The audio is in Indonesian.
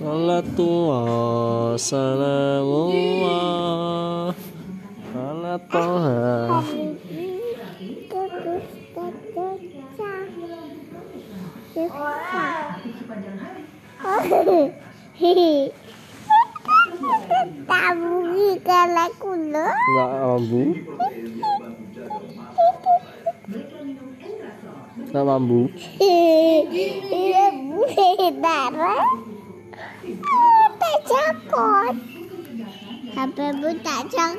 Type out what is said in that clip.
Salatu wassalamullah ala Toha. Tabu kalau kulo. Nggak mampu. Nggak mampu. Iya darah. Tak cakot. HP bu tak cakot.